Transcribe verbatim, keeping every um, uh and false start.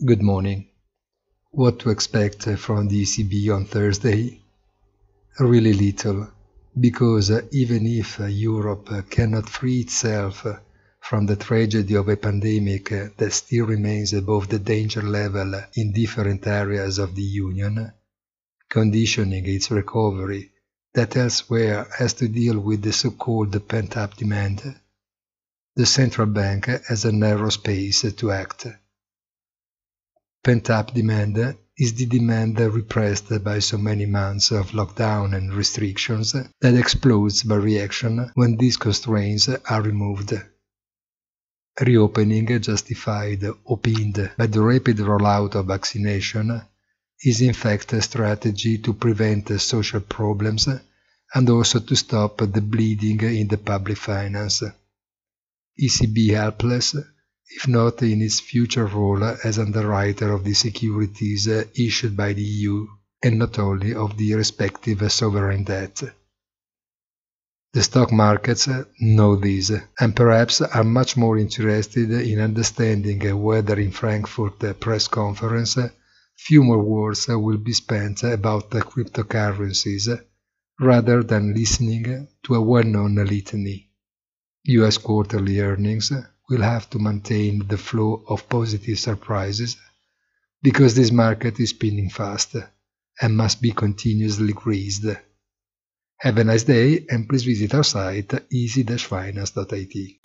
Good morning. What to expect from the E C B on Thursday? Really little, because even if Europe cannot free itself from the tragedy of a pandemic that still remains above the danger level in different areas of the Union, conditioning its recovery that elsewhere has to deal with the so-called pent-up demand, the central bank has a narrow space to act. Pent-up demand is the demand repressed by so many months of lockdown and restrictions that explodes by reaction when these constraints are removed. Reopening, justified or pinned by the rapid rollout of vaccination, is in fact a strategy to prevent social problems and also to stop the bleeding in the public finance. E C B helpless, if not in its future role as underwriter of the securities issued by the E U, and not only of the respective sovereign debt. The stock markets know this, and perhaps are much more interested in understanding whether in Frankfurt press conference few more words will be spent about cryptocurrencies, rather than listening to a well-known litany. U S quarterly earnings will have to maintain the flow of positive surprises, because this market is spinning fast and must be continuously greased. Have a nice day, and please visit our site easy dash finance dot I T.